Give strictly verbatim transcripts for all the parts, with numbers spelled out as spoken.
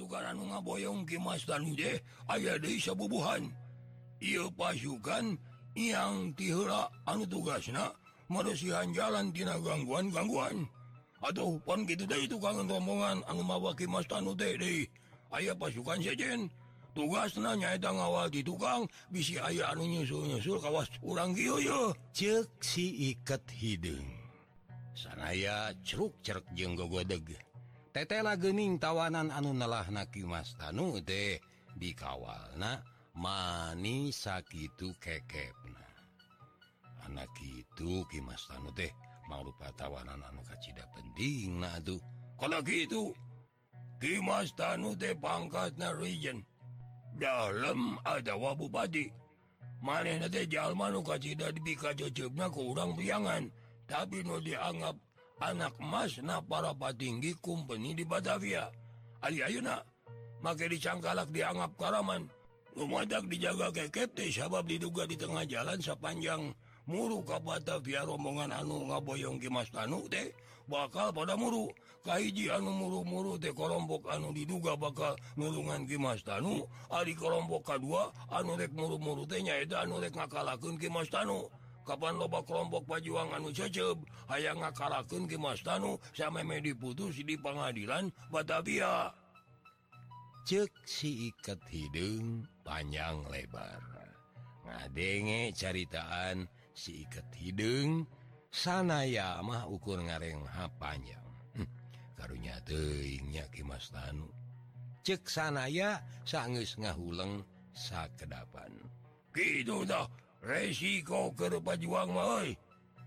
pasukan anu ngaboyong Ki Mas Tanu teh aya deui sabubuhan. Ieu pasukan yang tiheula anu tugasna maresihan jalan tina gangguan-gangguan. Atuh pon kitu deui tukang rombongan anu mawa Ki Mas Tanu teh deui. Aya pasukan sejen tugasna nyaeta ngawal di tukang bisi aya anu nyusul-nyusul kawas urang kieu ye. Ceuk si Iket Hideung. Sanaya ceruk-ceruk jeung gogodeg. Tetela geuning tawanan anu nelahna Ki Mas Tanu teh dikawalna mani sakitu kekepna. Anak kitu Ki Mas Tanu teh mangrupa tawanan anu kacida pentingna atuh. Kana kitu Ki Mas Tanu teh pangkatna Regent. Dalem adawa bupati. Manehna teh jalma nu kacida dipikaceceupna ku urang priangan, tapi nu dianggap anak emasna para patinggi kumpeni di Batavia. Ari ayeuna make dicangkalak dianggap karaman. Lumadak dijaga kekep teh sabab diduga di tengah jalan sapanjang muru ka Batavia rombongan anu ngaboyong Ki Mas Tanu teh bakal pada muru. Kahiji anu muru-muru teh kelompok anu diduga bakal nulungan Ki Mas Tanu. Ari kelompok kadua anu rek muru-muru teh nyaeta anu rek ngakalakeun Ki Mas Tanu. Kapan loba kelompok pajuang anu cecep hayang ngakalakeun Ki Mas Tanu sameme diputus di pengadilan Batavia. Ceuk si Iket Hideung panjang lebar. Ngadenge caritaan si Iket Hideung sanaya mah ukur ngarengha panjang. Hm, karunya teuing nya Ki Mas Tanu. Ceuk sanaya sageus ngahuleng sakedapan. Kitu tah resiko keur pajuang mah euy.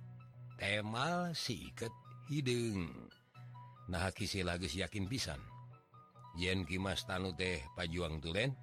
Temal si Iket Hideung. Nah kisila geus yakin pisan yen Ki Mas Tanu teh pajuang tulen.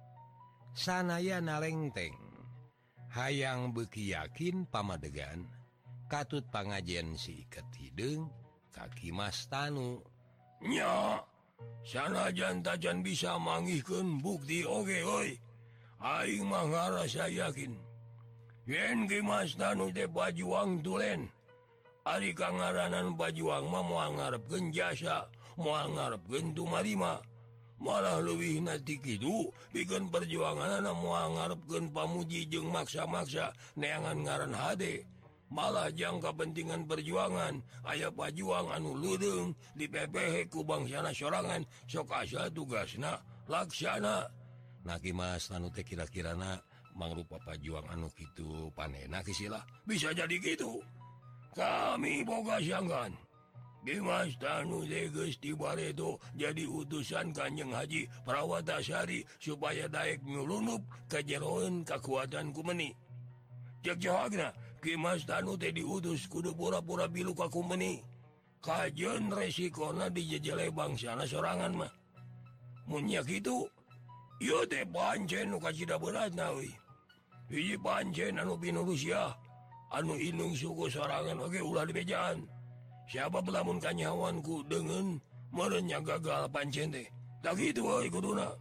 Sanaya nalengteng hayang beuki yakin pamadegan katut pangajen si Iket Hideung ka Ki Mas Tanu. Nya sanajan tajan bisa mangihkeun bukti oge euy. Aing mah ngarasa yakin yen Ki Mas Tanu teh pajuang tulen. Ari kangaranan pajuang mah moal ngarepkeun jasa, moal ngarepkeun tumarima. Malah leuwih nanti kitu pikeun perjuanganna moal ngarepkeun pamuji jeung maksa-maksa neangan ngaran hade. Malah jang kepentingan perjuangan aya pajuang anu leureung dipepehe ku bangsana sorangan sok asa tugasna laksana. Nah Ki Mas Tanu teh kira-kirana mangrupa pajuang anu kitu panena kisilah. Bisa jadi gitu. Kami boga sanggan Ki Mas Tanu teh geus tibareto jadi utusan Kanjeng Haji Prawatasari supaya daek nyulunup kajeroeun kakuatan kumeni. Cek jahagna Ki Mas Tanu teh diutus kudu pura-pura bilu ka kumeni. Kajeun resikona dijejele bangsana sorangan mah. Mun nya kitu ieu teh pancen nu kacida beratna euy. Hiji pancen anu pinurusia anu indung suku sorangan oge ulah dibejaan. Siapa lamun kanyawanku dengan merenya gagal pancen teh. Tak gitu euy kuduna.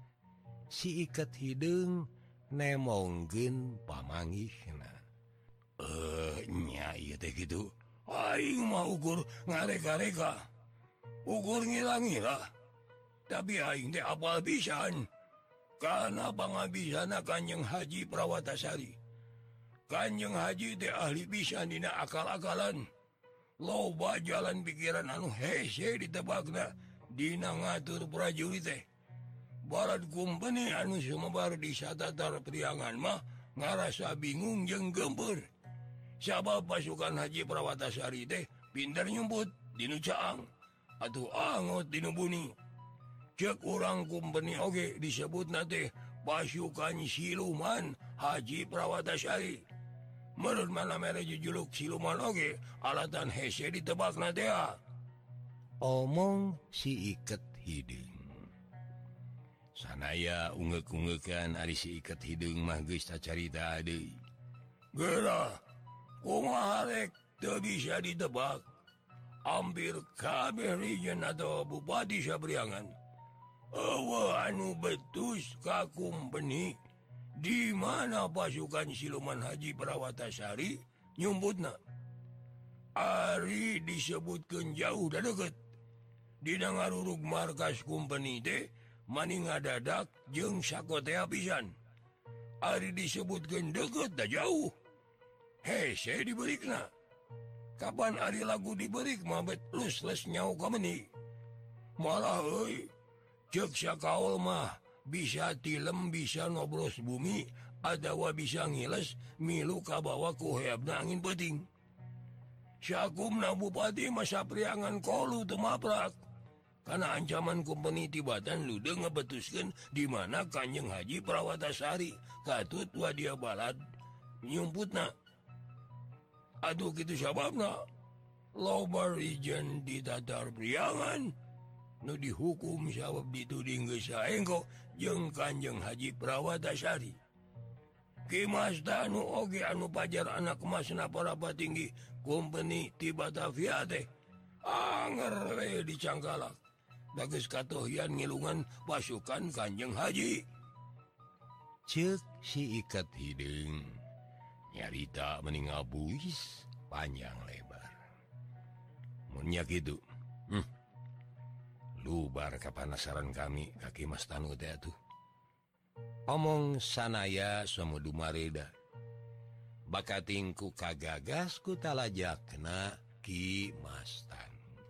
Si Iket Hideung nemongkeun pamanggihna. Eh nya ieu teh kitu. Aing mah ukur ngareka-reka. Ukur ngira-ngira. Tapi aing teh apal pisan. Kana pangabisana Kanjeng Haji Prawatasari. Kanjeng Haji teh ahli pisan dina akal-akalan. Loba jalan pikiran anu hese ditebakna dina ngatur prajurit teh. Barat kumpeni anu sumebar di satatar priangan mah ngarasa bingung jeung gempeur. Sabab pasukan Haji Prawatasari teh pinter nyumput dinu caang atuh angot dinu buni. Cek urang kumpeni oge disebutna teh pasukan siluman Haji Prawatasari. Menurut mana mere jujuluk siluman oge alatan hese ditebakna teh. Omong si Iket Hideung. Sanaya ungek-ungekan ari si Iket Hideung mah geus tacarita deui. Geura kumaha rek teu bisa ditebak. Hampir kabeh Regent atau bupati sabriangan eueuh anu betus ka kumpeni di mana pasukan siluman Haji Prawatasari nyumputna. Ari disebutkeun jauh da deukeut. Dina ngarurug markas kumpeni teh maning ngadadak jeung sakotea pisan. Ari disebutkeun deukeut da jauh. Hese diberikna. Kapan ari lagu diberik mah bet les-les nyau ka meuni. Malah euy, ceuk sakaol mah bisa tilem bisa nobros bumi, adawa bisa ngiles milu kabawa ku heabna angin peuting. Sakumna bupati masa priangan kolu teu maprak. Kana ancaman kumpeni Tibatan lude ngebetuskeun di mana Kanjeng Haji Prawatasari katut wadia balad nyumputna. Aduh kitu sababna loba rijen di tatar priangan nu dihukum sabab dituding geus saengko jeung Kanjeng Haji Prawatasari. Ki Mas Danu oge anu pajar anak emasna para patinggi kumpeni ti Batavia teh anger we dicangkalak. Dageus katohian ngilungan pasukan Kanjeng Haji. Ceuk si Iket Hideung nyarita meninggal buis panjang lebar. Mun nya kitu, hmm, lubar kapanasaran kami kaki Mas Tanu teh atuh. Omong sanaya samudu mareda. Bakatingku kagagas ku talajakna Ki Mas Tanu.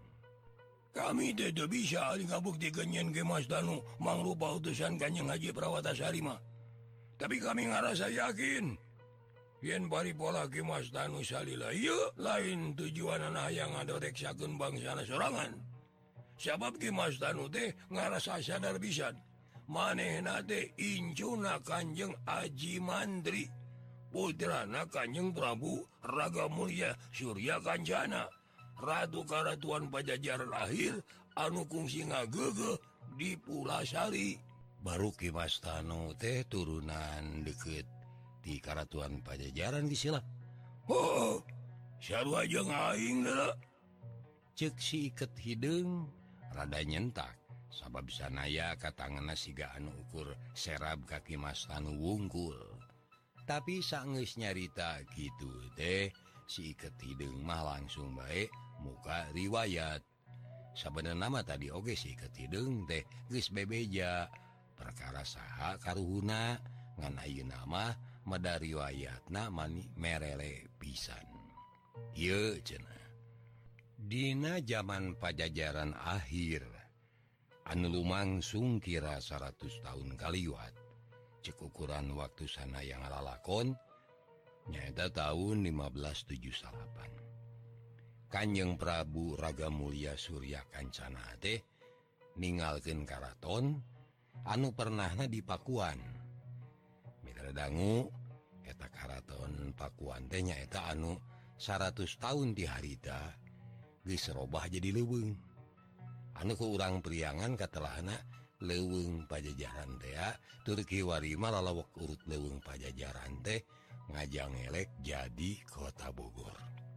Kami tidak bisa ngabuktikan yen ke Mas Danu mangrupa utusan Kanjeng Haji Prawatasari mah. Tapi kami ngarasa yakin yen paripola ke Mas Danu salila ieu lain tujuan hayang ngadoreksakeun bangsana sorangan. Sabab ke Mas Danu teh ngarasa sadar pisan manehna teh incuna Kanjeng Aji Mandri, putrana Kanjeng Prabu Ragamulya Surya Kancana, Ratu Karatuan Pajajaran akhir anu kungsi ngageugeum di Pulasari. Baru Ki Mas Tanu teh turunan deket di Karatuan Pajajaran disila. Oh, sarua jeung aing da. Ceuk si Iket Hideung rada nyentak sabab sanaya katanganna siga anu ukur serab ka Ki Mas Tanu wungkul. Tapi saenggeus nyarita kitu teh si Iket Hideung mah langsung bae muka riwayat. Sabenerna mah tadi oge si Iket Hideung teh geus bebeja perkara saha karuhuna ngan ayeuna mah mada riwayatna mani merele pisan. Ieu cenah. Dina zaman Pajajaran akhir anu lumangsung kira seratus tahun kaliwat, ceuk ukuran waktu sanaya ngalalakon nyaeta tahun lima belas tujuh delapan. Kanjeng Prabu Ragamulya Surya Kancana teh ninggalkeun karaton anu pernahna di Pakuan. Mitra dangu eta karaton Pakuan teh nyaeta anu seratus tahun ti harita geus robah jadi leuweung. Anu ku urang priangan katelahna leuweung Pajajaran teh tur kiwari mah lalawak urut leuweung Pajajaran teh ngajang elek jadi Kota Bogor.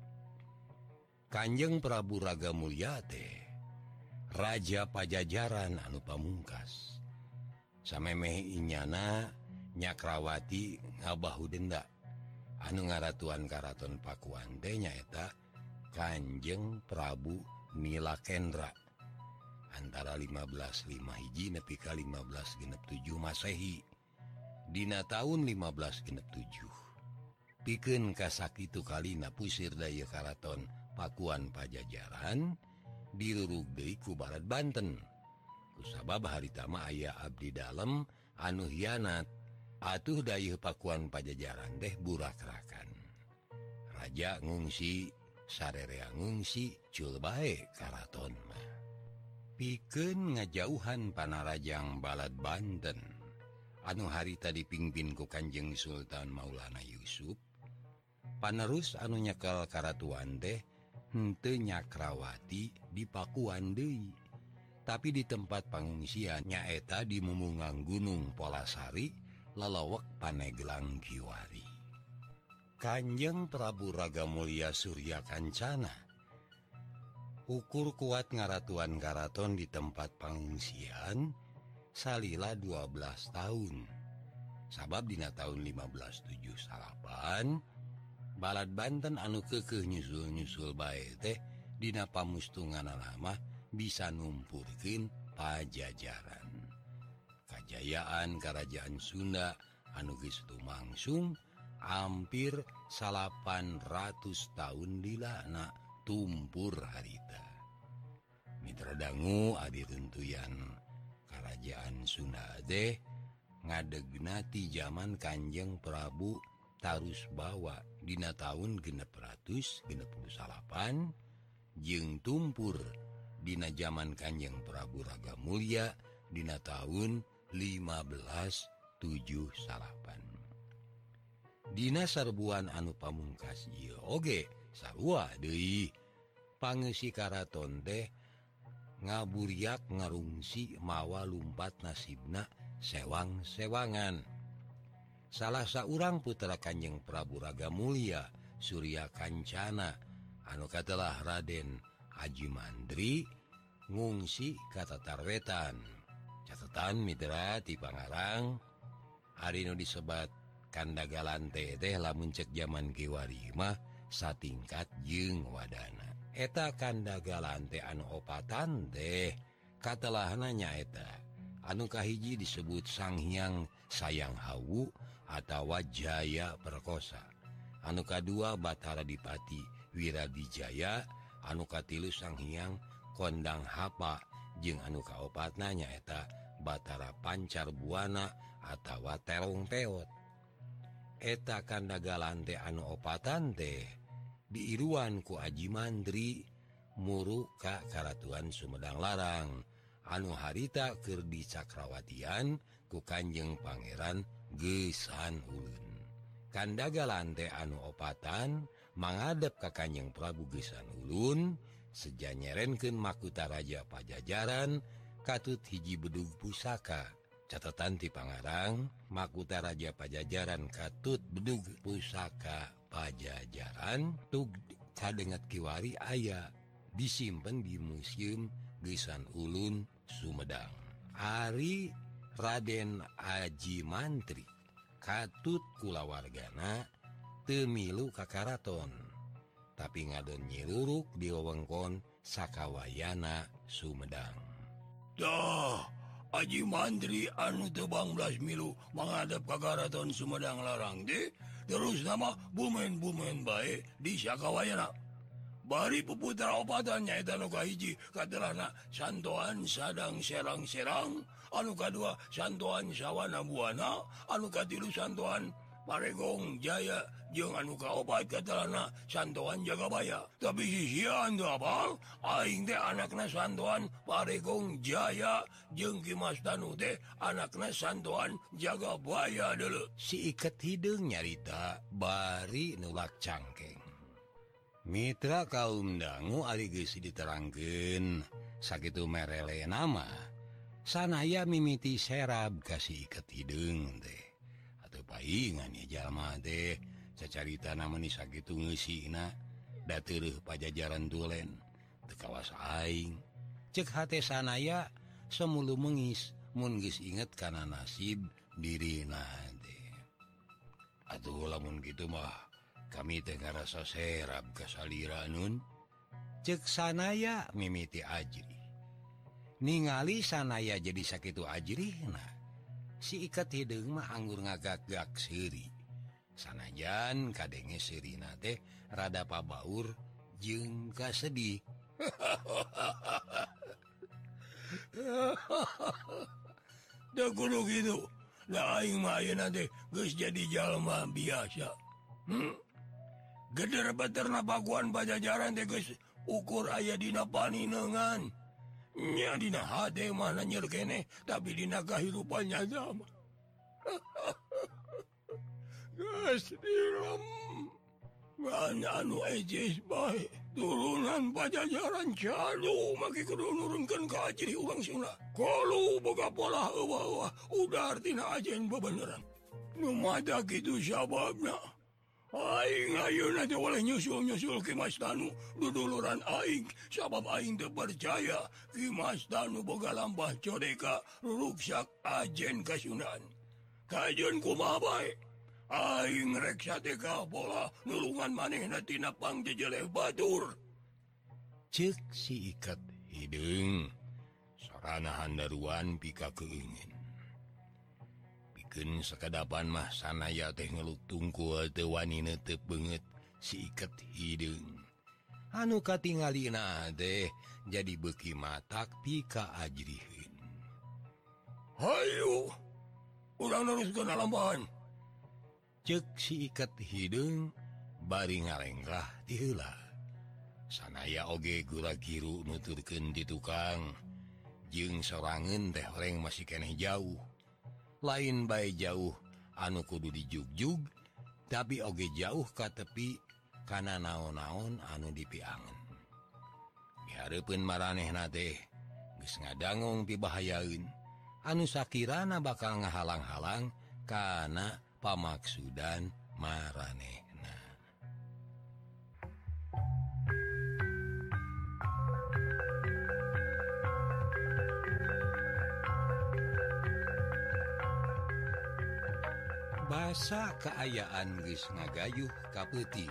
Kanjeng Prabu Ragamulya teh Raja Pajajaran anu pamungkas. Samemeh inyana Nyakrawati Ngabahudenda anu ngaratuan karaton Pakuan teh nyaeta Kanjeng Prabu Nilakendra antara lima belas lima hiji nepi ka lima belas genep tujuh Masehi. Dina tahun lima belas genep tujuh pikeun kasakitu kalina pusir daya karaton Pakuan Pajajaran dirurug deui ku Barat Banten. Kusabab harita mah aya abdi dalem anu hianat atuh dayeuh Pakuan Pajajaran teh burak-rakan. Raja ngungsi sarerea ngungsi cul bae karaton mah. Pikeun ngajauhan panarajang Balad Banten anu harita dipingpin ku Kanjeng Sultan Maulana Yusuf, panerus anu nyekel karatuan teh henteu Nyakrawati di Pakuan deui, tapi di tempat pangungsian nyaeta di mumungang Gunung Polasari lalawek Paneglang Kiwari. Kanjeng Prabu Ragamulya Surya Kancana ukur kuat ngaratuan karaton di tempat pangungsian salila dua belas tahun. Sabab dina tahun lima belas tujuh delapan Balad Banten anu keukeuh nyusul-nyusul bae teh dina pamustunganna mah bisa numpurkeun Pajajaran. kajayaan Kerajaan Sunda anu geus tumangsung hampir salapan ratus tahun dilana tumpur harita. Mitra dangu adi runtuyan Kerajaan Sunda teh ngadegna ti zaman Kanjeng Prabu Tarusbawa dina taun genep ratus genep puluh salapan jeung tumpur dina zaman Kanjeng Prabu Ragamulya dina taun lima belas tujuh salapan. Dina sarbuan anu pamungkas ieu oge sarua deui pangeusi karaton teh ngaburiak ngarungsi mawa lumpat nasibna sewang-sewangan. Salah saurang putra Kanjeng Prabu Ragamulya Surya Kancana anu katelah Raden Aji Mandri ngungsi ka Tatarwetan. Catetan mitra ti Pangarang ari nu disebat Kandagalante teh lamun cek zaman kiwari mah satingkat jeung wadana. Eta Kandagalante anu opatan teh katelahna nyaeta anu kahiji disebut Sang Hyang Sayang Hawu atawa Jaya Perkosa, anu kadua Batara Dipati Wiradijaya, anu katilu Sang Hyang Kondang Hapa jeung anu kaopatna nyaeta Batara Pancar Buana atawa Terong Peot. Eta Kandagalante anu opatan teh diiruan ku Aji Mandri muru ka Karatuan Sumedang Larang anu harita keur dicakrawatian ku Kanjeng Pangeran Gesan Ulun. Kandagalante anu opatan mangadep ka Kanjeng Prabu Gesan Ulun seja nyerenkeun mahkota Raja Pajajaran katut hiji bedug pusaka. Catatan ti Pangarang mahkota Raja Pajajaran katut bedug pusaka Pajajaran tug kadengat kiwari aya disimpen di Museum Gesan Ulun Sumedang. Ari Raden Aji Mantri katut kulawargana teu milu ka karaton tapi ngadon nyiruruk di wewengkon sakawayana Sumedang. Dah Aji Mandri anu tebang belas milu menghadap ke Karaton Sumedang Larang de terus nama bumen-bumen bae di sakawayana. Bari puputra opatannya eta anu kahiji katerana Santoan Sadang Serang-Serang, anu kadua Santoan Sawana Buana, anu katilu Santoan Paregong Jaya jeung anu kaopat katerana Santoan Jagabaya. Tapi sisian teu apal aing teh anakna Santoan Paregong Jaya jeung Kimas Tanu teh anakna Santoan Jagabaya deuleu. Si iket hideung nyarita bari nulak cangkeng. Mitra kaum dangu ari geus diterangkeun sakitu merele nama sanaya mimiti serab kasih iket hideung teh atuh paingan ya jalma teh cacarita namani sakitu ngeusina da teueuh Pajajaran tulen teu kawas aing ceuk hate sanaya semulu meungis mun geus inget kana nasib dirina teh. Atuh lamun kitu mah kami teh ngarasa serab kasalira nun ceuk sanaya mimiti ajri ningali sanaya jadi sakitu ajrihna si iket hideung mah anggur ngagak-gak seuri sanajan kadenge seurina teh rada pabaur jeung kasedih. Da kudu kitu da aing mah ayeuna teh geus jadi jalma biasa. Hmm? Geder beterna pakuan Pajajaran teh geus ukur aya dina paninengan. Nya dina hade mah nyer keneh tapi dina kahirupan nyata mah. Geus direm. Ngan anu ejes bae turunan Pajajaran calu make kudu nurunkeun ka ajri urang Sunda. Kalu boga pola eueuh-eueuh udar tina ajen bebeneran. Nu mata kitu sababna. Aing ayeuna teh oleh nyusul-nyusul Kimas Tanu duduluran aing sabab aing teu percaya Kimas Tanu boga lambah codeka ruruksak ajen Kasundaan. Kajeun kumaha bae aing rek sateka pola nulungan manehna tina pangjejeleh batur. Ceuk si iket hideung sarana handaruan pika keungin. piken sekedapan mah sanaya teh ngeluk tungkul teu wani neuteup beungeut si iket hideung. Anu katingalina teh jadi beuki matak pika ajrieun. Hayu, urang neruskeun alambahan. Ceuk si iket hideung bari ngalenggah ti heula. Sanaya oge gula giru nuturkeun ti tukang, jeung sorangeun teh horeng masih keneh jauh. Lain bae jauh anu kudu dijugjug, tapi oge jauh ka tepi kana naon-naon anu dipiangen. Dihareupeun maranehna teh geus ngadangong pibahayaeun anu sakirana bakal ngahalang-halang kana pamaksudan maranehna. Basa kaayaan geus ngagayuh ka peuting.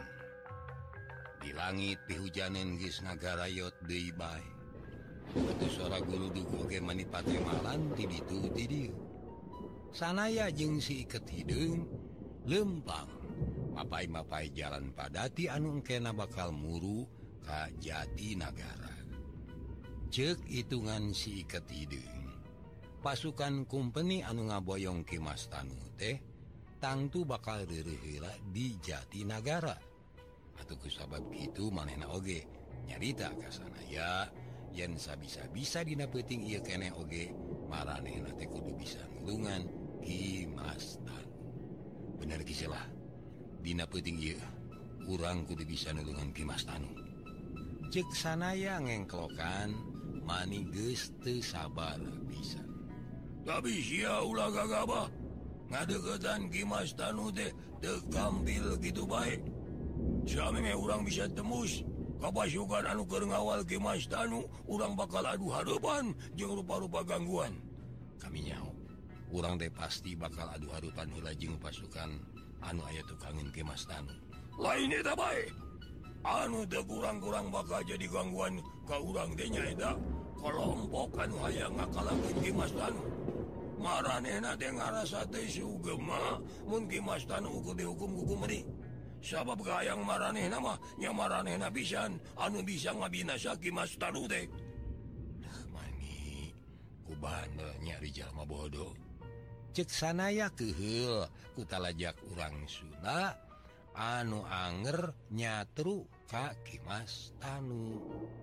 Di langit pihujanen geus ngagarayot deui bae. Atuh sora guluduh oge manipate malan ti ditu ti dieu. Sanaya jeung si iket hideung lempang mapai-mapai jalan padati anu engkena bakal muru ka Jatinagara. Ceuk hitungan si iket hideung, pasukan kumpeni anu ngaboyong Ki Mas Tanu teh tangtu bakal reureuh heula di Jatinagara. Atuh kusabab kitu manehna oge nyarita ka sanaya yen sabisa-bisa dina peuting ieu keneh oge maranehna teh kudu bisa nulungan Ki Mas Tanu. Bener kisalah, dina peuting ieu urang kudu bisa nulungan Ki Mas Tanu. Ceuk sanaya ngengklokan mani geus teu sabar pisan. Tapi sia ulah gagabah ngadeukeutan Ki Mas Tanu teh teu kampil kitu bae. Sami meh urang bisa tembus ka pasukan anu keur ngawal Ki Mas Tanu, urang bakal adu hareupan jeung rupa-rupa gangguan. Kami nyaho, urang teh pasti bakal adu hareupan heula jeung pasukan anu aya tukangeun Ki Mas Tanu. Lain eta bae, anu teu kurang-kurang bakal jadi gangguan ka urang teh nyaeta kelompok anu hayang ngakalakeun Ki Mas Tanu. Maranehna teh ngarasa teh sugem mah mun Ki Mas Tanu ukur dihukum ku kumeni. Sabab gayang maranehna mah nya maranehna pisan anu bisa ngabinasa Ki Mas Tanu teh. Dah mani ku bandel nyari jalma bodoh. Ceuk sanaya keheul ku talajak urang Sunda anu anger nyatru ka Ki Mas Tanu.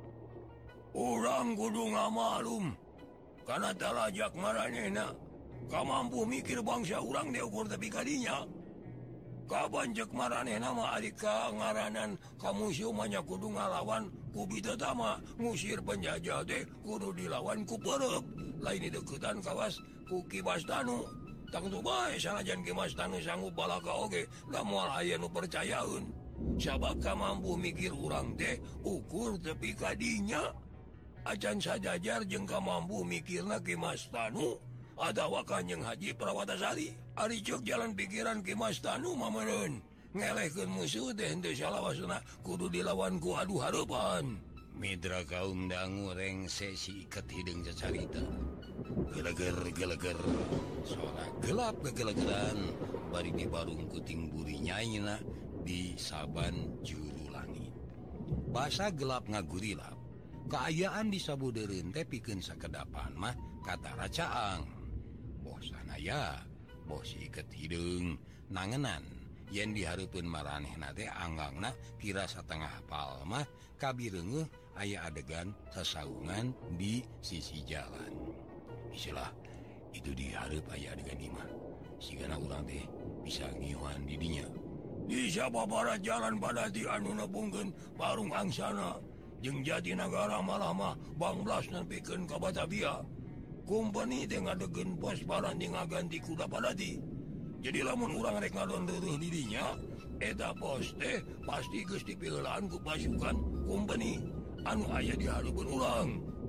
Urang kudu ngamalum kana talajak maranehna kamampu mikir bangsa urang teh ukur tepi kadinya. Kapan cek maranehna mah ari ka ngaranan ka musuh mah nya kudu ngalawan ku bidata mah ngusir penjajah teh kudu dilawan ku peureup. Lain dideuketan kawas ku Ki Mas Tanu. Tangtu bae sanajan Ki Mas Tanu sanggup balaka oge da moal aya nu percayaeun. Sabab kamampu mikir urang teh ukur tepi kadinya. Acan sajajar jeung kamampu mikirna Ki Mas Tanu adawa Kanjeng Haji Prawatasari. Ari ceuk jalan pikiran Ki Mas Tanu mah meureun ngelehkeun musuh teh henteu salawasna kudu dilawan ku adu hareupan. Mitra kaum dangu rengse si iket hideung cacarita. Geleger-geleger suara gelap gegelegeran bari dibarung kuting buri nyaina di saban juru langit. Basa gelap ngagurilap. Kaayaan di sabudeureun teh pikeun sakedapan mah katara caang. Boh sanaya boh si iket hideung nangenan yen dihareupeun maranehna teh anggangna kira satengah pal mah kabireungeuh aya adegan sasaungan di sisi jalan. Istilah itu dihareup aya adegan imah sigana urang teh bisa ngiuhan di dinya. Di sababaraha jalan padati anu nepungkeun Parung Angsana jeung Jatinagara malah mah banglas nepikeun ka Batavia. Kumpeni teh ngadegeun pos paranti ngaganti kuda padati. Jadi lamun urang rek ngadon-deuruh di dinya, eta pos teh pasti geus dipileulaan ku pasukan kumpeni anu aya di hareupeun urang.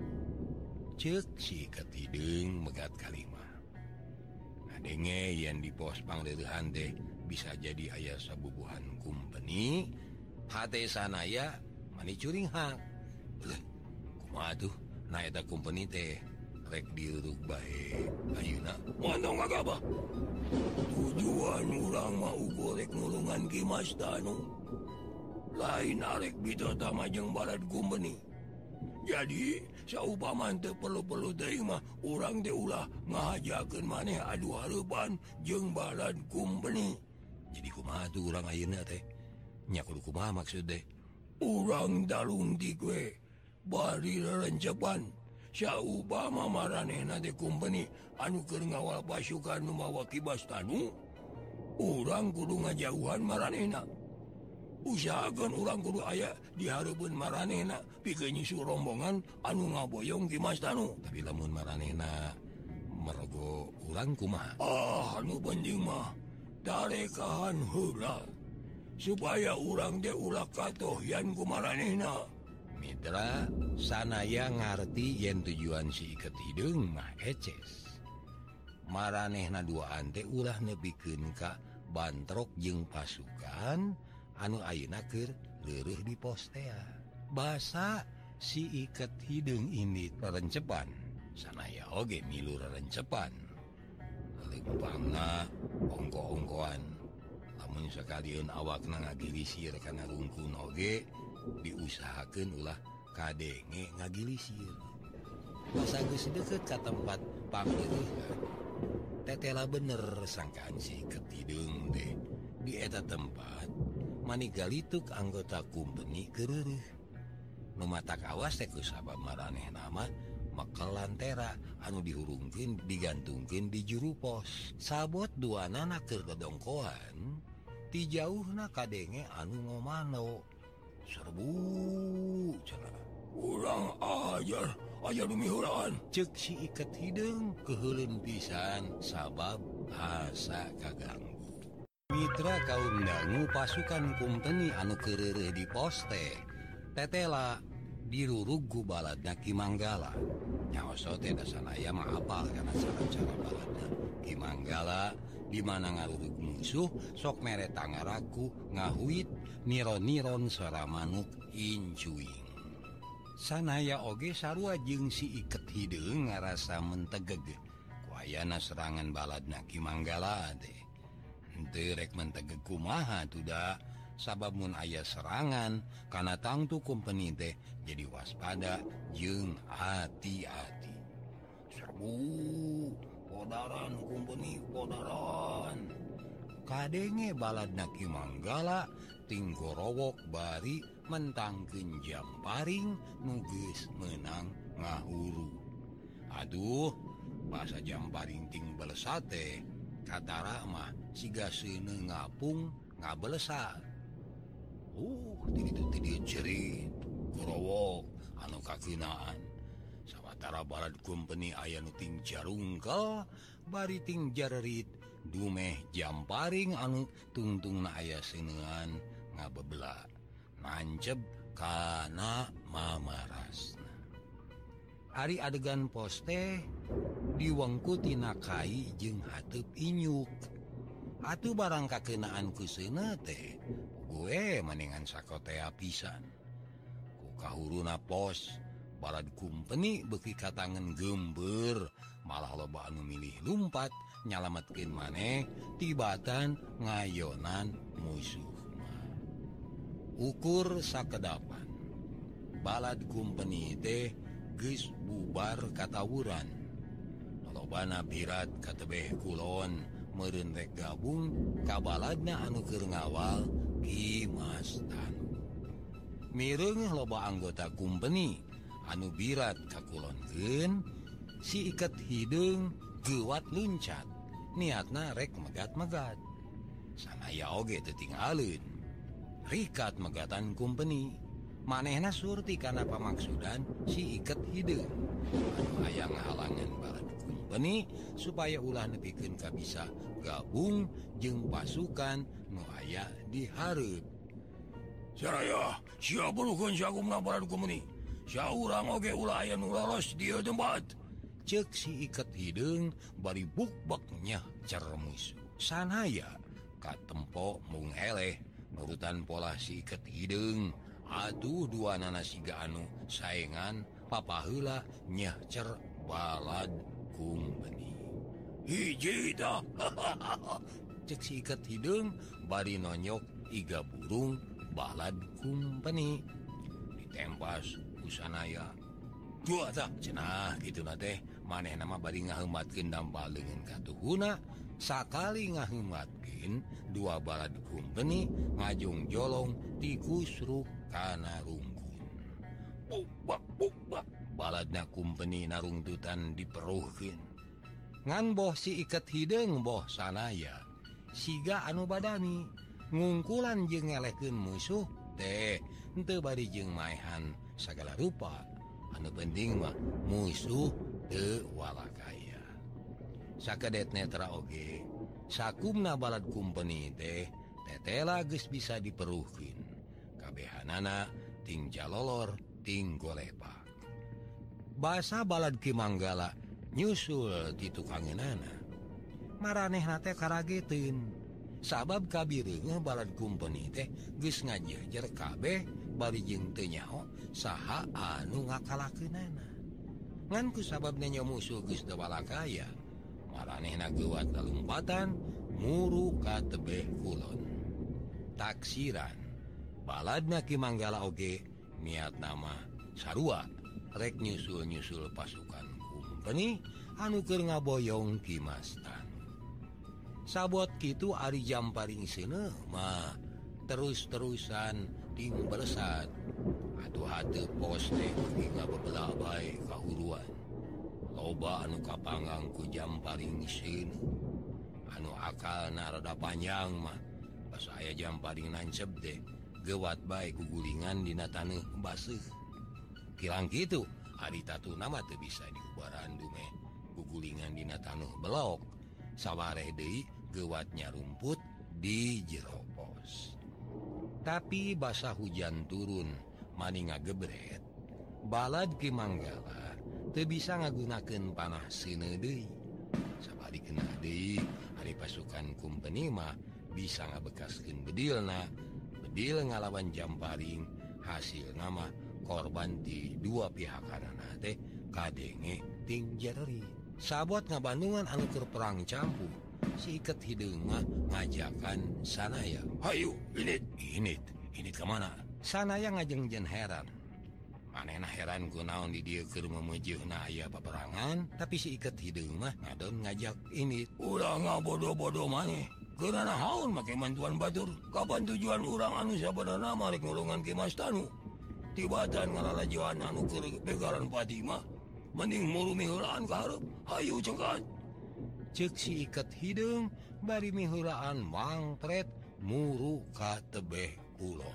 Ceuk si iket hideung megat kalimah. Ngadenge yen di pos pangleurehan teh bisa jadi aya sabubuhan kumpeni, hate sanaya mani curing hak. Leh, kumaha tuh na eta kumpeni teh rek diurug bae ayeuna. Montong gagabah. tujuan urang mau gorek ngulungan Kimas Tanu. Lain arek bito tamajeng balad kumbeni. Jadi saupaman teu perlu-perlu teuing mah urang teh ulah ngahajakeun maneh adu hareupan jeung balad kumbeni. Jadi kumaha tuh urang ayeuna teh? Nya kudu kumaha maksud teh? Urang dalungtik we bari rerencepan saupama maranehna teh kumbeni anu keur ngawal pasukan nu mawa Kimas Tanu. Urang kudu ngajauhan maranehna. Usahakeun urang kudu aya di hareupeun maranehna pikeun nyusul rombongan anu ngaboyong Kimas Tanu. Tapi lamun maranehna mergo urang kumaha? Ah, anu penting mah tarekahan heula supaya urang teh ulah katohyan ku maranehna. Mitra, sanaya ngarti yen tujuan si Iket Hideung mah eces. Maranehna duaan teh ulah nepikeun ka Bantrok jeung pasukan anu ayeuna keur leureuh di pos tea. Basa si Iket Hideung ini rerencepan, sanaya oge milu rerencepan. Leumpangna ongko-ongkoan, lamun sakalian awakna ngagilisir kana rungkun oge, diusahakeun ulah kadenge ngagilisir. Basa geus deukeut ka tempat pamileuhan, tetela bener sangkaan si Iket Hideung teh. Di eta tempat manigalituk anggota kumpeni keureuh. Nu matak awas teh ku sabab maranehna mah mekel lantera anu dihurungkeun digantungkeun di juru pos. Sabot duanana keur dodongkoan, ti jauhna kadenge anu ngomano. Serbu cenah. Urang ajar, ajar lumihuraan. Ceuk si Iket Hideung keuheuleun pisan sabab asa kaganggu. Mitra kaum dangu pasukan kumpeni anu keureuh di pos teh tetela dirurug ku baladna Ki Manggala. Nyaoso teh sanaya mah apal kana cara-cara baladna Ki Manggala di mana ngarurug musuh sok mere tangaraku ngahuit niron-niron sora manuk incuing. Sanaya oge sarua jeung si Iket Hideung ngarasa mentegeg ku ayana serangan baladna Ki Manggala teh. Henteu rek mentegeg kumaha tuh da, sabab mun aya serangan kana tangtu kumpeni teh jadi waspada jeung hati-hati. Serbu podaran kumpeni podaran. Kadenge baladna Ki Manggala tinggorowok bari mentangkeun Jamparing nu geus meunang ngahuru. Aduh, basa Jamparing ting belesa teh katara mah siga seuneu ngapung ngabelesa. Uh, tiditu tidieu cerit gorowok anu kakeunaan. Sawatara balad kumpeni aya nu ting jarungkel bari ting jarerit dumeh Jamparing anu tungtungna aya seuneuan ngabebela nanceb kana mamarasna. Ari adegan pos teh diwengku tina kai jeung hateup inyuk. Atuh barang kakeunaan ku seuneu teh gue mendingan sakotea pisan. Ku kahuruna pos balad kumpeni beuki katangen geumbeur, malah loba anu milih lumpat nyalametkeun maneh tibatan ngayonan musuh. Ukur sakedapan balad kumpeni teh geus bubar katawuran. Lobana birat katebeh kulon meureun rek gabung ka baladna anu keur ngawal Kimas Tanu. Mireung loba anggota kumpeni anu birat kakulonkeun, si Iket Hideung geuwat luncat, niatna rek megat-megat. Sanaya oge teu tinggalin rikat megatan kumpeni. Manehna surti kana pamaksudan si Iket Hideung anu aya ngahalangan balad kumpeni supaya ulah nepikeun ka bisa gabung jeung pasukan nu aya di hareup. Saraya siap puluhkeun sagumna balad kumpeni. Saurang oge ulah aya nu lolos di ieu tempat. Ceuk si Iket Hideung bari bukbek nyah cer musuh. Sanaya katempo mung eleh nurutan pola si Iket Hideung. Atuh duanana siga anu saengan papaheula nyah cer balad kumpeni. Hiji tah. cek si iket hidung bari nonyok iga burung balad kumpeni ditempas kusanaya dua tak cenah gitu nate maneh nama bari ngahematkeun dampal dengan katuhuna sakali ngahematkeun dua balad kumpeni ngajung jolong ti kusruk kana rungkun buk buk bak baladna kumpeni narungtutan diperuhkeun ngan boh si iket hideung boh sanaya siga anu badani ngungkulan jeung ngelehkeun musuh teh henteu bari jeung maehan sagala rupa anu penting mah musuh teu walakaya sakedet netra oge sakumna balad kumpeni teh tetela geus bisa diperuhkeun kabehanana ting jalolor ting golepak basa balad Ki Manggala nyusul ti tukangeunana maranehna teh karageteun sabab kabireungeuh balad kumpeni teh geus ngajejer kabeh bari jeung teu nyaho saha anu ngakalakeunana ngan ku sababna nya musuh geus teu walakaya maranehna geuwat lalumpatan muru ka tebeh kulon taksiran baladna Ki Manggala oge niat nama sarua rek nyusul-nyusul pasukan kumpeni anu keur ngaboyong Ki Mastanu sabot kitu ari Jamparing seuneu mah terus-terusan ting beresat atuh hateu pos teh beuki ngabebelah bae kahuruan loba anu kapanggang ku Jamparing seuneu anu akalna rada panjang mah pas aya Jamparing nancep teh geuwat bae gugulingan dina taneuh baseuh kirang kitu ari tatuna mah teu bisa diubaran dume gugulingan dina taneuh belok sawareh deui geuwatnya rumput di jero pos tapi basa hujan turun mani ngagebret balad Ki Manggala teu bisa ngagunakeun panah seuneu deui sabalikeunna deui ari pasukan kumpeni mah bisa ngabekaskeun bedilna bedil ngalawan Jamparing hasil nama korban di dua pihak kanana teh kadenge ting jereri sabot ngabandungan anu keur perang campu si iket hideung mah ngajakan sanaya hayu init init init kemana sanaya ngajengjen heran manehna heran kunaon di dieu keur memeujeuna aya paperangan tapi si iket hideung mah ngadon ngajak init ulah ngabodo-bodo maneh keurana naon make mantuan batur kapan tujuan urang anu sabenerna mah rek ngulungan Ki Mastanu tibatan ngalalajoan anu keur begaran pati mah mending muru miheulaan ka hareup hayu cengkan ceuk si iket hideung bari miheulaan mangpret muru ka tebeh kulon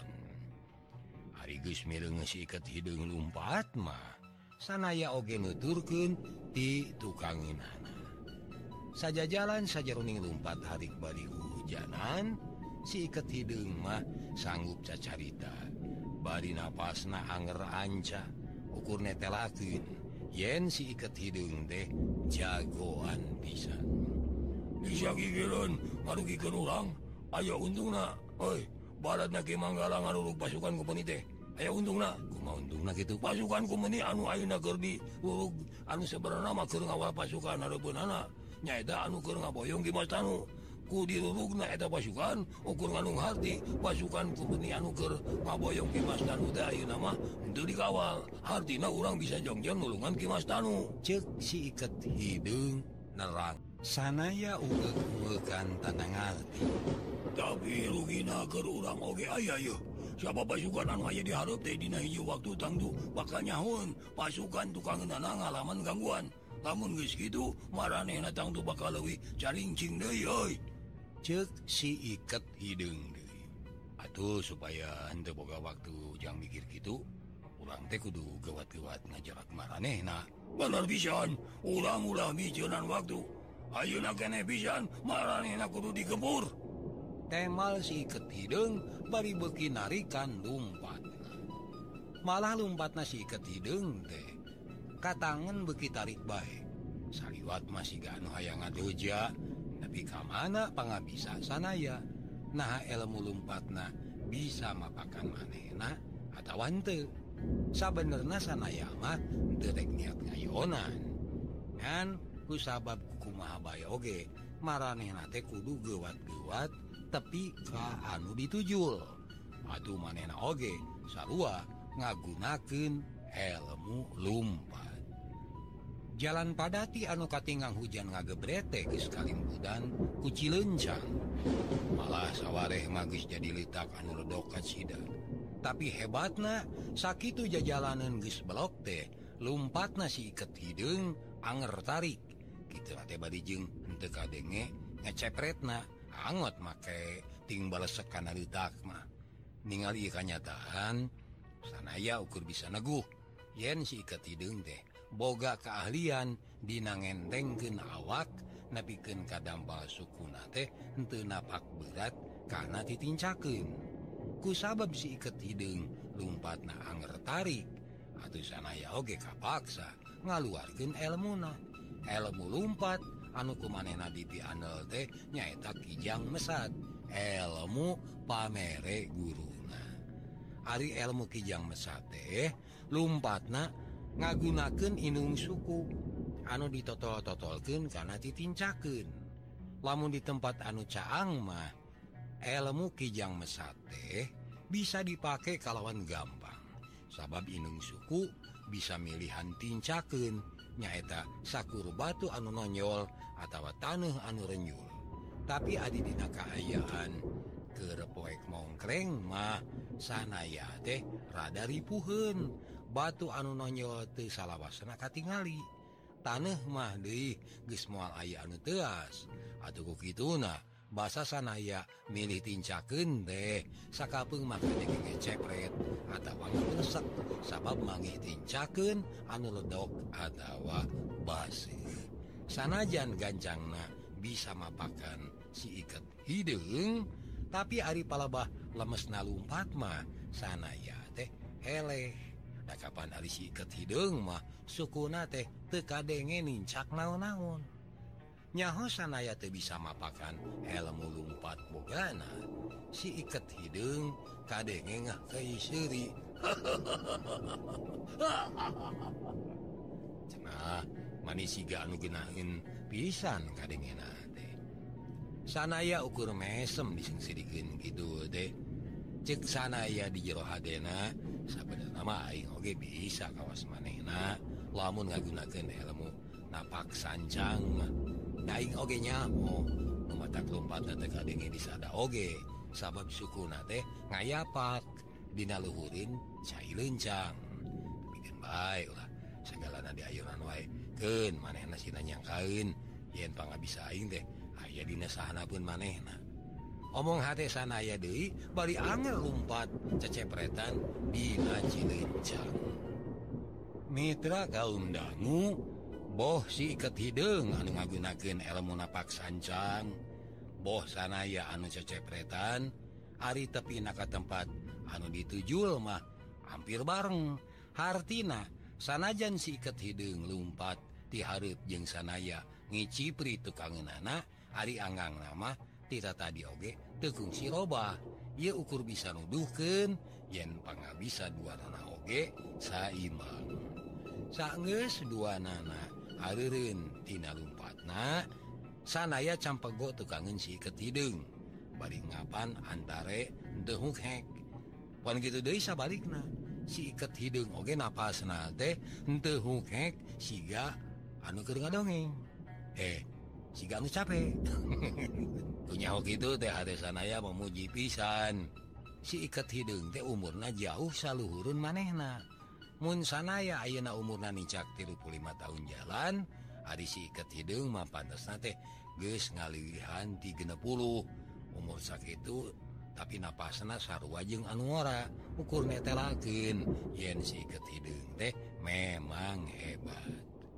ari geus mireungeun si iket hideung lumpat mah sanaya oge nuturkeun ti tukangeunana sajajalan sajeroning lumpat harik bari hujanan si iket hideung mah sanggup cacarita bari napasna anger anca ukur netelakeun yen si iket hideung teh jagoan pisan bisa gigireun ngarugikeun urang aya untungna oi baladna Ki Manggala ngarurug pasukan kumpeni teh aya untungna kumaha untungna kitu pasukan kumpeni anu ayeuna keur diurug anu sabenerna mah keur ngawal pasukan hareupeunana nyaeta anu keur ngaboyong Ki Mastanu ku dirurugna eta pasukan ukur nganung harti pasukan kumpeni anu keur ngaboyong Ki Mastanu teh ayeuna mah henteu dikawal hartina urang bisa jongjong nulungan Ki Mastanu ceuk si iket hideung nerang sanaya ugeug-ugegan tanang arti tapi rugina keur urang oge aya yeuh siapa pasukan anu aya di hareup teh dina hiji waktu tangtu bakal nyahoun pasukan tukangeunana ngalaman gangguan lamun geus kitu maranehna tangtu bakal leuwih carincing deui euy ceuk si iket hideung deui atuh supaya henteu boga waktu jang mikir kitu urang teh kudu geuwat-geuwat ngajarak maranehna bener pisan urang ulah mijeunan waktu ayeuna keneh pisan maranehna kudu digempur temal si iket hideung bari beuki narikan lumpatna malah lumpatna si iket hideung teh katangan beuki tarik bae saliwat masih gak anu hayang ngadoja tapi kamana pangabisa sanaya nah ilmu lumpatna bisa mapakan manehna atawa henteu sabenerna sanaya mah teu rek niat ngayonan kan ku sabab kumaha bae oge maranehna teh kudu gewat-gewat tepi ka anu ditujul. Atuh manehna oge sarua ngagunakeun elmu lumpat. Jalan padati anu katinggang hujan ngagebrete geus kalimbudan ku Cileunjang. Malah sawareh mah geus jadi litak anu ledok ka cida. Tapi hebatna sakitu jajalaneun geus belok teh lumpatna si Iket Hideung anger tarik. Kitu teh bari jeung henteu kadenge ngecepretna angot make ting balesek kana litak mah. Ningali kanyataan sanaya ukur bisa neguh yen si Iket Hideung teh boga keahlian dina ngentengkeun awak nepikeun kadampal sukuna teh henteu napak berat kana ditincakeun. Kusabab si Iket Hideung lumpatna anger tarik atuh sanaya oge kapaksa ngaluarkeun elmuna. Elmu lumpat anu kumanehna dipiandel teh nyaeta Kijang Mesat, elmu pamere guruna. Ari elmu Kijang Mesat teh lumpatna ngagunakeun inung suku anu ditotol-totolkeun kana ditincakeun. Lamun di tempat anu caang mah elmu Kijang Mesat teh bisa dipake kalawan gampang. Sabab inung suku bisa milihan tincakeun nyaeta sakur batu anu nonjol atawa taneuh anu renyul. Tapi adi dina kaayaan keur poek mongkreng mah sanaya teh rada ripuheun. Batu anu nonjol teu salawasna katingali. Taneuh mah deui geus moal aya anu teuas. Atuh ku kituna basa sanaya milih tincakeun teh sakapeung mah kadenge ngecepret atawa ngresek sabab mangih tincakeun anu ledok atawa baseuh. Sanajan gancangna bisa mapakan si Iket Hideung, tapi ari palebah lemesna lumpat mah sanaya teh eleh. Da kapan ari si Iket Hideung mah sukuna teh teu kadenge nincak naon-naon. Nyaho sanaya teu bisa mapakan elmu lumpat bogana, si Iket Hideung kadenge ngahkei seuri. Cenah manis siga anu geunaheun pisan kadengena teh. Sanaya ukur mesem disengsirikeun kitu teh. Cek sanaya di jero hadena sabenerna mah aing oge bisa kawas manehna lamun ngagunakeun elmu napak sancang mah. Daing oge nyaho nu matak lumpatna teh kadenge disada oge sabab sukuna teh ngayapak dina luhurin cai leuncang. Bikin bae ulah sagalana diayunan wae keun manehna sina nyangkaeun yen pangabisa aing teh aya dina sahanapeun manehna. Omong hate sanaya deui bari anger lumpat cecepretan dina Cileuncang. Mitra kaum dangu, boh si Iket Hideung anu ngagunakeun elmu napak sancang, boh sanaya anu cecepretan ari tepina ka tempat anu ditujul mah hampir bareng. Hartina sanajan si Iket Hideung lumpat ti hareup jeung sanaya ngicipri tukangeunana ari anggangna mah tita tadi oge teu kungsi loba. Ieu ukur bisa nuduhkeun yen pangabisa duanana oge saimbang. Saenggeus duanana hareureun tina lumpatna sanaya campego tukangeun si Iket Hideung bari ngapan antare teu hukhek. Pan kitu deui sabalikna si Iket Hideung oge napasna teh teu hukhek siga anu keur ngadongeng. Eh siga anu capek. Kunyaho kitu teh hate sanaya memuji pisan. Si Iket Hideung teh umurna jauh saluhurun manehna. Mun sanaya ayeuna umurna nincak tilu puluh lima tahun jalan, ari si Iket Hideung mah pantesna teh geus ngaliwihan ti genep puluh. Umur sakitu tapi napasna sarua jeung anu ora. Ukur netelakeun yen si Iket Hideung teh memang hebat.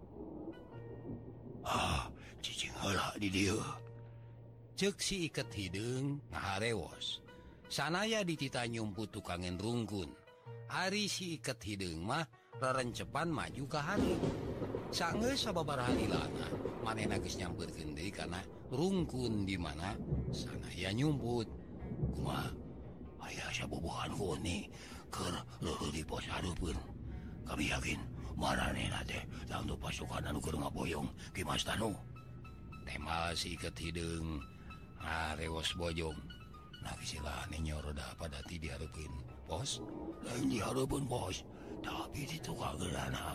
Ah, cicing heula di dieu. Ceuk si Iket Hideung ngaharewos. Sanaya ditita nyumput tukangen rungkun. Ari si Iket Hideung mah rerencepan maju ka hareup. Saenggeus sababaraha lilana manehna geus nyampeurkeun deui kana rungkun di mana sanaya nyumput. Kumaha? Aya sabobohan huni keur leueuh di pos hareupeun. Kami yakin maranehna teh tangtu pasukan anu keur ngaboyong Ki Mas Tanu. Temal si iket hidung ngarewas bojong. Nah istilahnya nyoroda padati diharapin bos. Lain diharapin bos, tapi itu kagelana.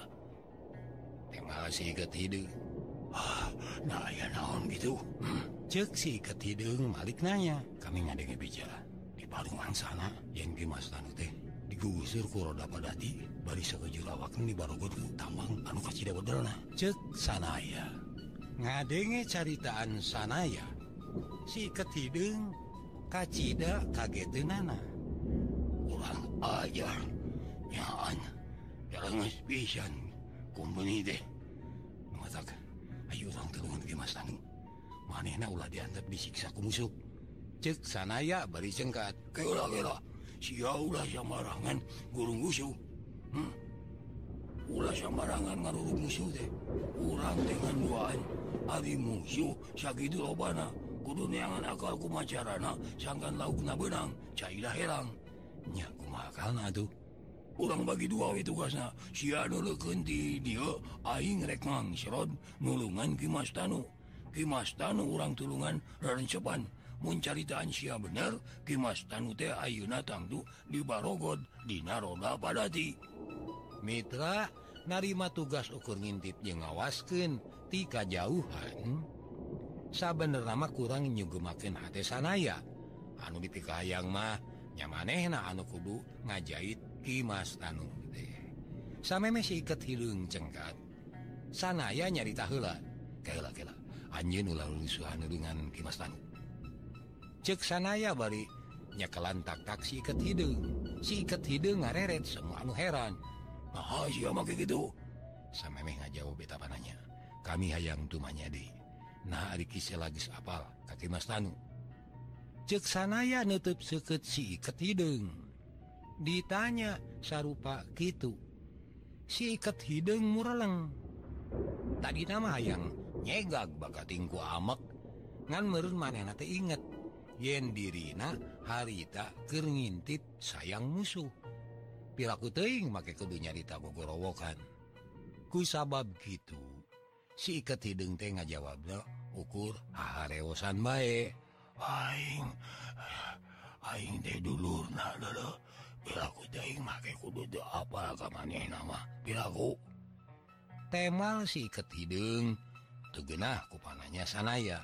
Temal si iket hidung. Ah, nah ya naon gitu. Hmm. Cek si iket hidung Malik nanya. Kami ngadenge bicara di palungan sana yang Kimas Tanu teh digusur ku roda padati bari sakejur awakna dibarogot ku tambang anu kacida bedelna. Cek sanaya ngadenge caritaan sanaya si iket hidung kacida kageteunana. Urang ajar nyaan jalanges pisan kumpeni teh. Matak ayo urang tulungan Kimas Tanu. Manehna ulah diantep disiksa ku musuh. Cek sanaya bari cengkat. Kela-kela sia ulah samarangan gurung musuh. Hmm? Ulah samarangan ngarurug musuh teh. Urang dengan duaan ari musuh sakitu lobana. Kudu neangan akal kumacarana sangkan laukna benang cailah herang. Nya kumaha akalna atuh? Urang bagi dua we tugasna. Sia nuleukeun ti dieu aing rek ngangsrod nulungan Kimas Tanu. Kimas Tanu urang tulungan rerencepan. Mun caritaan sia bener, Kimas Tanu teh ayeuna tangtu dibarogod dina roda padati. Mitra narima tugas ukur ngintip jeung ngawaskeun ti kajauhan. Sabenerna mah kurang nyugemakeun hate sanaya. Anu dipikahayang mah nya manehna anu kudu ngajait Kimas Tanu teh. Sameme si iket hidung cengkat. Sanaya nyarita heula. Kaheula-keula anjeun ulah lulusuhan dengan Kimas Tanu. Cek sanaya bari nyakelan tak-tak si iket hidung. Si iket hidung ngareret semua anu heran. Nah sia make gitu. Samemeh ngajawab eta pananya. Kami hayang tumanya deui. Nah ari kisah lagis apal ka Kimas Tanu. Cek sanaya nutup seukeut si iket hidung. Ditanya sarupa kitu. Si iket hidung mureleng. Tadi nama hayang nyegag bakatingku amek. Ngan meureun manehna teh inget yen dirina harita keur ngintip sayang musuh. Piraku teuing make kudu nyarita gogorowokan. Ku sabab kitu si iket hidung teh ngajawabna ukur hahareosan bae. Aing aing teh dulurna leuleuk. Piraku teuing make kudu teu apal ka manehna mah. Piraku temal si iket hidung teu geunah ku pananya sanaya.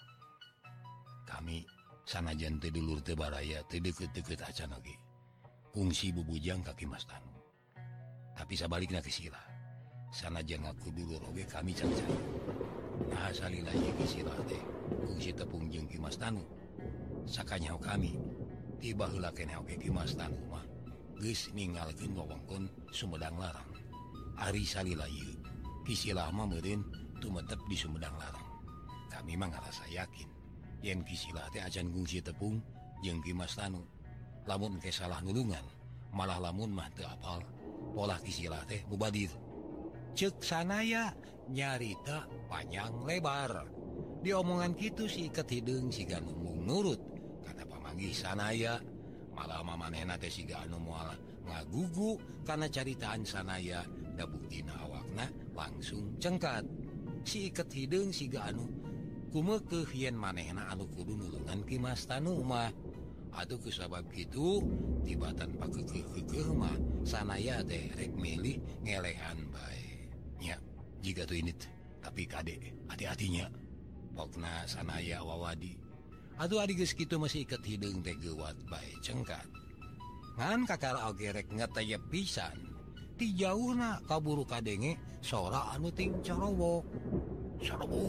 Kami sanajan teu dulur teu baraya teu deukeut-deukeut acan oge. Kungsi bubujang ka Kimas Tanu. Tapi sabalikna ke sila. Sanajan ngaku dulur oge kami cancan. Nah salila ieu ke sila teh kungsi tepung jeung Kimas Tanu. Sakanyaho kami tiba heula keneh oge Kimas Tanu mah geus ninggalkeun wewengkon Sumedang Larang. Ari salila ieu ki sila mah meureun tumetep di Sumedang Larang. Kami mah ngarasa yakin yen kisila teh acan kungsi tepung jeung Kimas Tanu. Lamun ke salah nulungan, malah lamun mah teu apal pola kisila teh mubadir. Cek sanaya nyarita panjang lebar. Di omongan kitu si iket hidung siga mung nurut kana pamanggih sanaya. Malah mamanehna teh siga anu moal ngagugu kana caritaan sanaya da buktina awakna langsung cengkat. Si iket hidung siga anu kumeukeuh yen manehna anu kudu nulungan Kimas Tanu mah. Atuh kusabab kitu tibatan pakeukeuh-keukeuh mah sanaya teh rek milih ngelehan bae. Nya jiga tuh ini tapi kade hati-hatinya. Pokna sanaya wawadi. Atuh adi geus kitu masih iket hidung teh geuwat bae cengkat. Ngan kakara oge rek ngeteyep pisan. Ti jauhna kaburu kadenge sora anu ting corowok. serbu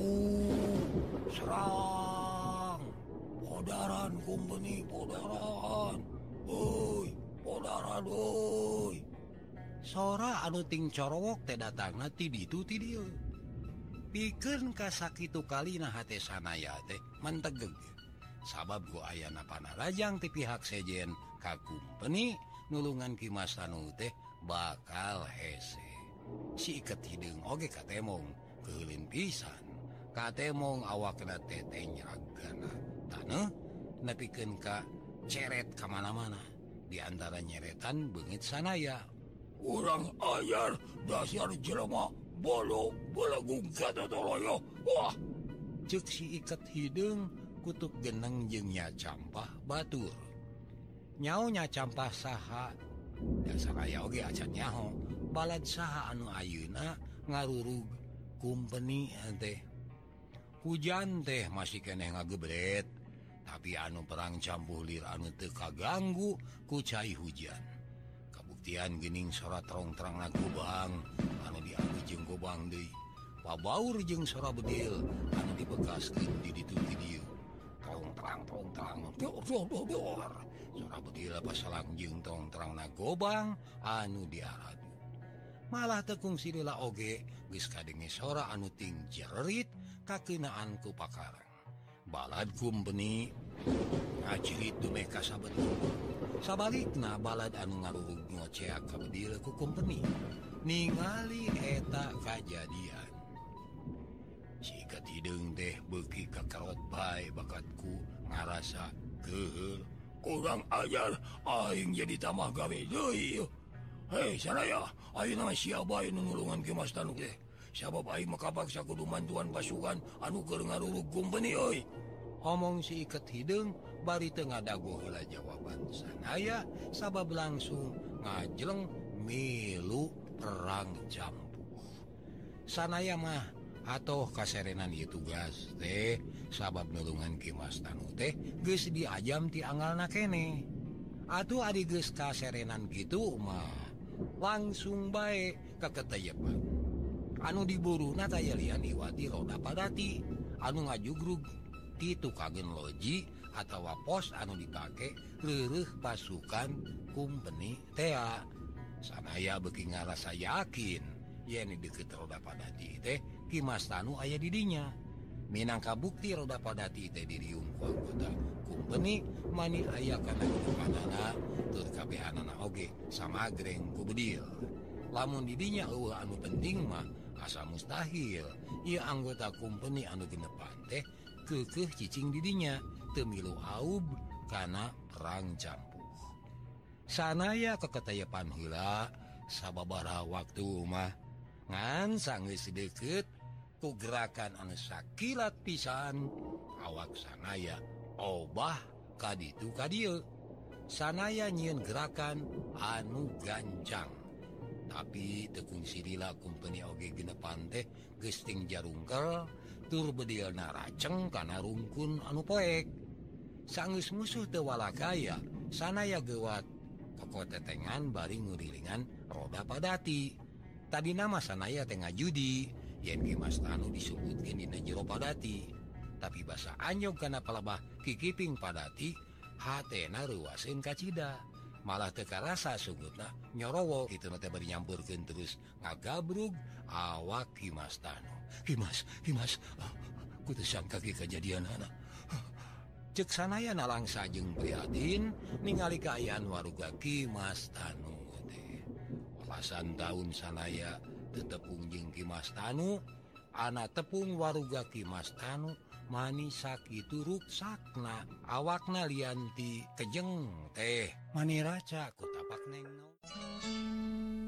serang podaran kumpeni podaran. Oi, podaran oi. Sora anu ting corowok teh datangna ti ditu ti dieu. Pikeun ka sakitu kalina hate sanaya teh mantegeg. Sabab ku ayana panarajang ti pihak sejen ka kumpeni nulungan Kimas Tanu teh bakal hese. Si iket hidung oge katemong keulin pisan. Katemong awakna teh teh nyeragana. Taneuh nepikeun ka ceret ka mana-mana. Di antara nyeretan beungit sanaya. Urang ayar dasar jelema bolo belagung kata toloyo. Wah, cek si iket hidung kutuk geneng jeung Nya Campah batur. Nyaonya Campah saha dan saraya oge acan nyaho balad saha anu ayeuna ngarurug kumpeni teh. Hujan teh masih keneh ngagebret, tapi anu perang campuh lir anu teu kaganggu ku cai hujan. Kabuktian geuning sora terong-terangna gobang anu dianggo jeung gobang deui. Pabaur jeung sora bedil anu dibekaskeun di ditu ti dieu. Terong-terang terong-terang dor dor dor dor. Sora bedil pasalang jeung terong-terangna gobang anu diaradu. Malah tekung silila oge geus kadenge sora anu ting jerit kakeunaan ku pakarang. Balad kumpeni ngajerit dume ka sabetul. Sabalikna balad anu ngarurug ngoceak ka bedil ku kumpeni ningali eta kajadian. Si iket hidung teh beuki kakarot bae bakatku ngarasa geuheul. Kurang ajar aing jadi tamah gawe deui. Hei saraya, ayeuna mah sia bae nu nulungan ke Mas Tanu teh. Sabab aing makapaksa kudu mantuan pasukan anu keur ngarurug kumpeni euy. Omong si iket hidung bari teu ngadago heula jawaban sanaya sabab langsung ngajleng milu perang campuh. Sanaya mah atoh kaserenan ieu tugas teh sabab nulungan ki Mas Tanu teh geus diajam ti angalna keneh. Atuh ari geus kaserenan kitu mah langsung bae kaketeyepan. Anu diburuna taya lian iwati roda padati anu ngajugrug ti tukageun loji atawa pos anu dipake reureuh pasukan kumpeni tea. Sanaya beuki ngarasa yakin yen di deukeut roda padati teh Ki Mas Tanu aya di dinya. Minangka bukti roda padati teh diriung ku anggota kumpeni mani aya kana kepadana tur kabehanana oge samagreng ku bedil. Lamun di dinya eueuh anu penting mah asa mustahil ieu anggota kumpeni anu genepan teh keukeuh cicing di dinya teu milu aub kana perang campuh. Sanaya kaketayepan heula sababaraha waktu mah ngan sanggeus deukeut ku gerakan anu sakilat pisan awak sanaya obah ka ditu ka dieu. Sanaya nyieun gerakan anu gancang. Tapi tekung silila kumpeni oge genepan teh geus ting jarungkel tur bedilna raceng kana rungkun anu poek. Sanggeus musuh teu walakaya, sanaya geuwat kokotetengan bari ngurilingan roda padati. Tadi nama sanaya teh ngajudi yen Ki Mas Tanu disebutkeun dina jero padati. Tapi basa anyog kana palebah kikiping padati hatena reuaseun ka cida. Malah teu karasa sugutna nyorowo kituna teh bari nyampurkeun terus ngagabrug awak Ki Mas Tanu. Ki Mas, Ki Mas, ah, ku teu sangka ki kajadianana. Cek sanaya nalangsa jeung prihatin ningali kaayaan waruga Ki Mas Tanu teh. Alasan taun sanaya teu tepung jeung Ki Mas Tanu, ana tepung waruga Ki Mas Tanu mani sakitu ruksakna awakna lianti kejeng teh mani raca ku tapak nengno.